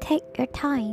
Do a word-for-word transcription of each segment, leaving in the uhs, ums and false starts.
Take your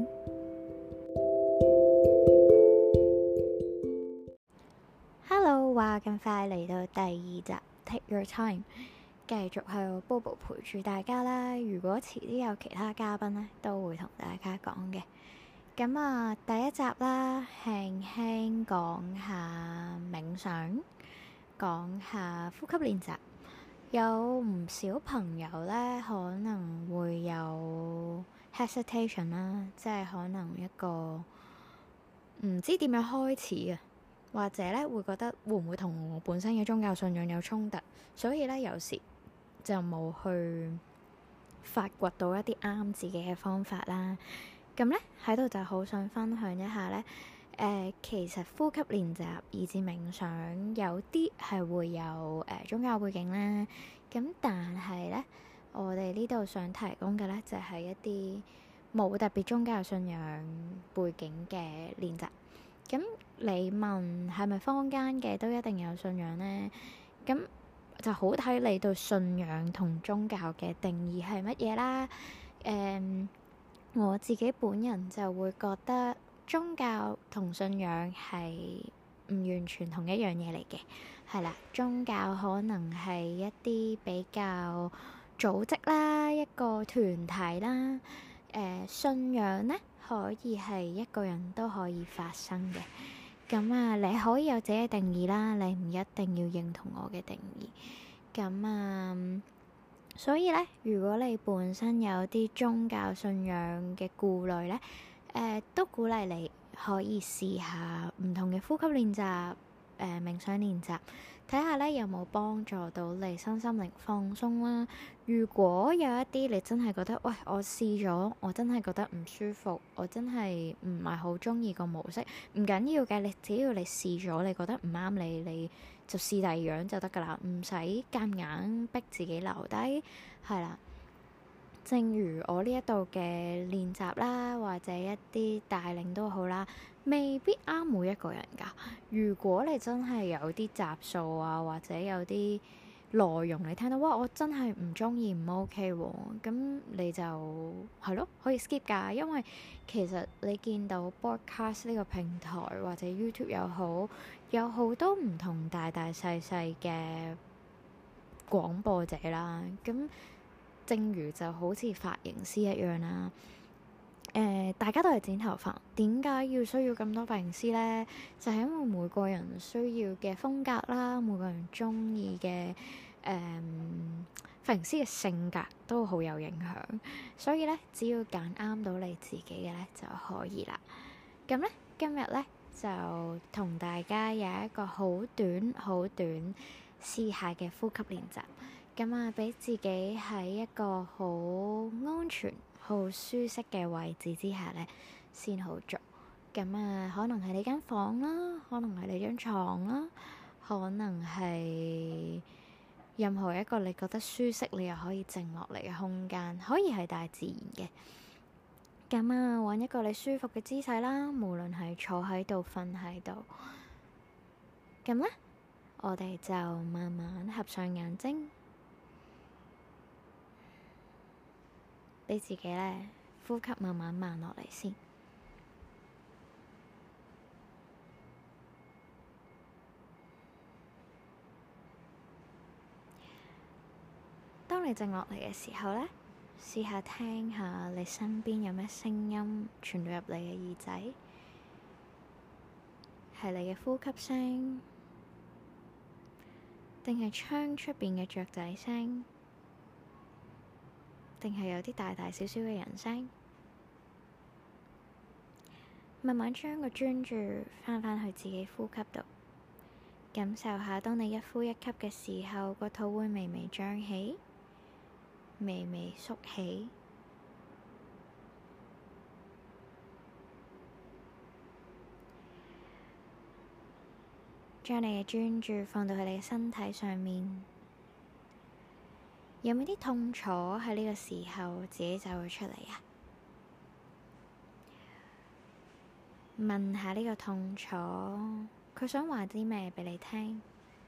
time。Hello，話咁快嚟到第二集 Take your time，繼續係 Bobo 陪住大家啦。如果遲啲有其他嘉賓呢，都會同大家講嘅。咁啊，第一集啦，輕輕講下冥想，講下呼吸練習。有唔少朋友呢，可能會有 hesitation 啦，即係可能一個唔知點樣開始啊，或者呢會覺得會唔會同我本身嘅宗教信仰有衝突，所以呢，有時就冇去發掘到一啲啱自己嘅方法啦。咁呢，喺度就好想分享一下呢。誒、呃，其實呼吸練習以至冥想有啲係會有誒、呃、宗教背景啦，咁但係呢，我哋呢度想提供嘅呢，就係、是、一啲冇特別宗教信仰背景嘅練習。咁你問係咪坊間嘅都一定有信仰呢？咁就好睇你對信仰同宗教嘅定義係乜嘢啦。誒、嗯，我自己本人就會覺得宗教同信仰係唔完全同一樣嘢嚟嘅，係啦。宗教可能係一啲比較組織啦，一個團體啦。誒、呃，信仰呢可以係一個人都可以發生嘅。咁啊，你可以有自己嘅定義啦，你唔一定要認同我嘅定義。咁啊，所以呢，如果你本身有啲宗教信仰嘅顧慮呢，誒、呃、都鼓勵你可以試下唔同嘅呼吸練習，誒、呃、冥想練習，睇下咧有冇幫助到你身心靈放鬆啦。如果有一啲你真係覺得，喂，我試咗，我真係覺得唔舒服，我真係唔係好中意個模式，唔緊要嘅，你只要你試咗，你覺得唔啱你，你就試第二樣就得噶啦，唔使夾硬逼自己留低，係啦。正如我呢一度嘅練習啦，或者一啲帶領都好啦，未必啱每一個人㗎。如果你真係有啲集數啊，或者有啲內容你聽到，哇，我真係唔中意，唔 OK 喎，咁你就係咯，可以 skip 㗎。因為其實你見到 broadcast 呢個平台或者 YouTube 又好，有好多唔同大大細細嘅廣播者啦，咁。正如就好似髮型師一樣啦，誒、呃，大家都係剪頭髮，點解要需要咁多髮型師呢？就係、是、因為每個人需要嘅風格啦，每個人中意嘅誒髮型師嘅性格都好有影響，所以咧，只要揀啱到你自己嘅咧就可以啦。咁咧，今日咧就同大家有一個好短、好短試下嘅呼吸練習。咁啊，俾自己喺一個好安全、好舒適嘅位置之下呢，先好做。咁啊，可能係你間房啦，可能係你張床啦，可能係任何一個你覺得舒適，你又可以靜落嚟嘅空間，可以係大自然嘅。咁啊，揾一個你舒服嘅姿勢啦，無論係坐喺度、瞓喺度。咁呢，我哋就慢慢合上眼睛。俾自己咧呼吸慢慢慢落嚟先。當你靜落嚟嘅時候咧，試下聽下你身邊有咩聲音傳到入你嘅耳仔，係你嘅呼吸聲，定係窗出邊嘅雀仔聲？定係有啲大大小小嘅人聲，慢慢將個專注翻返去自己呼吸度，感受下當你一呼一吸嘅時候，個肚會微微脹起，微微縮起，將你嘅專注放到去你嘅身體上面。有冇啲痛楚喺呢個時候自己就會出嚟啊？問下呢個痛楚，佢想話啲咩俾你聽？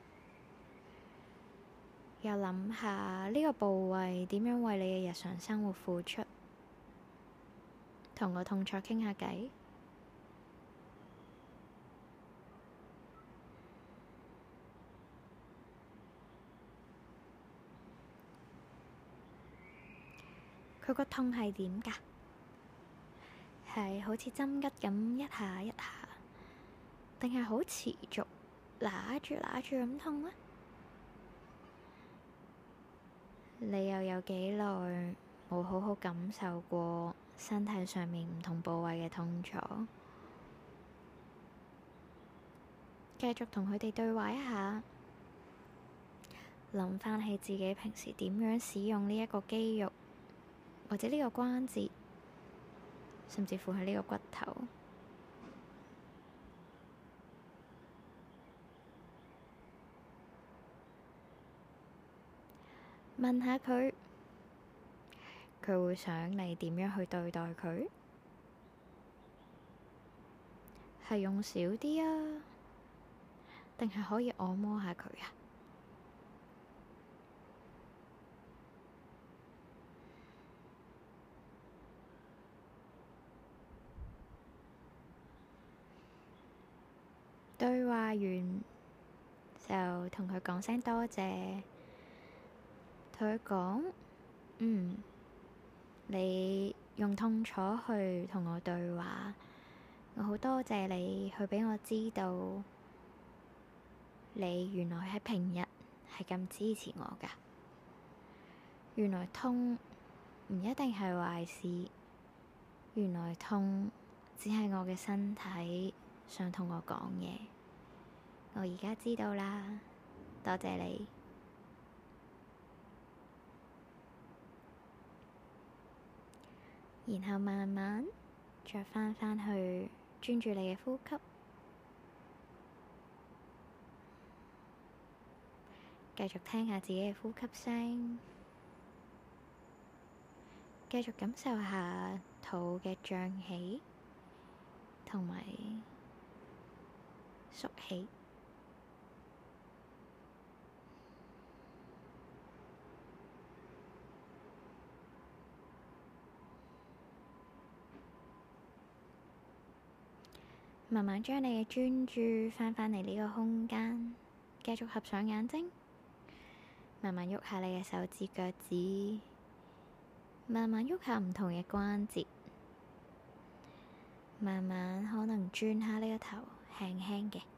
又諗下呢個部位點樣為你嘅日常生活付出？ 同個痛楚傾下偈。佢個痛係點㗎？係好似針吉咁一下一下，定係好持續揦住揦住咁痛呢？你又有幾耐冇好好感受過身體上面唔同部位嘅痛楚？繼續同佢哋對話一下，諗返起自己平時點樣使用呢一個肌肉，或者呢個關節，甚至乎係呢個骨頭。問下佢，佢會想你點樣去對待佢？係用少啲啊，定係可以按摩下佢啊？對話完就同佢講聲多謝，同佢講，嗯，你用痛楚去同我對話，我好多謝你去畀我知道，你原來喺平日係咁支持我㗎。原來痛唔一定係壞事，原來痛只係我嘅身體想同我講嘢。我而家知道啦，多謝你。然後慢慢再返返去專注你嘅呼吸，繼續聽下自己嘅呼吸聲，繼續感受下肚嘅脹起同埋縮起。慢慢將你嘅專注翻返嚟呢個空間，繼續合上眼睛，慢慢喐下你嘅手指腳趾，慢慢喐下唔同嘅關節，慢慢可能轉下呢個頭，輕輕嘅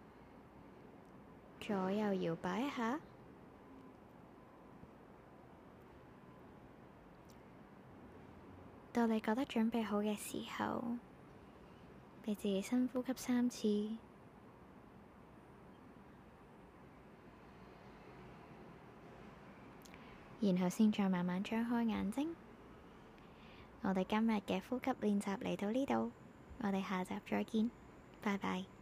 左右搖擺一下。到你覺得準備好嘅時候，畀自己深呼吸三次，然後先再慢慢張開眼睛。我哋今日嘅呼吸練習嚟到呢度，我哋下集再見，拜拜。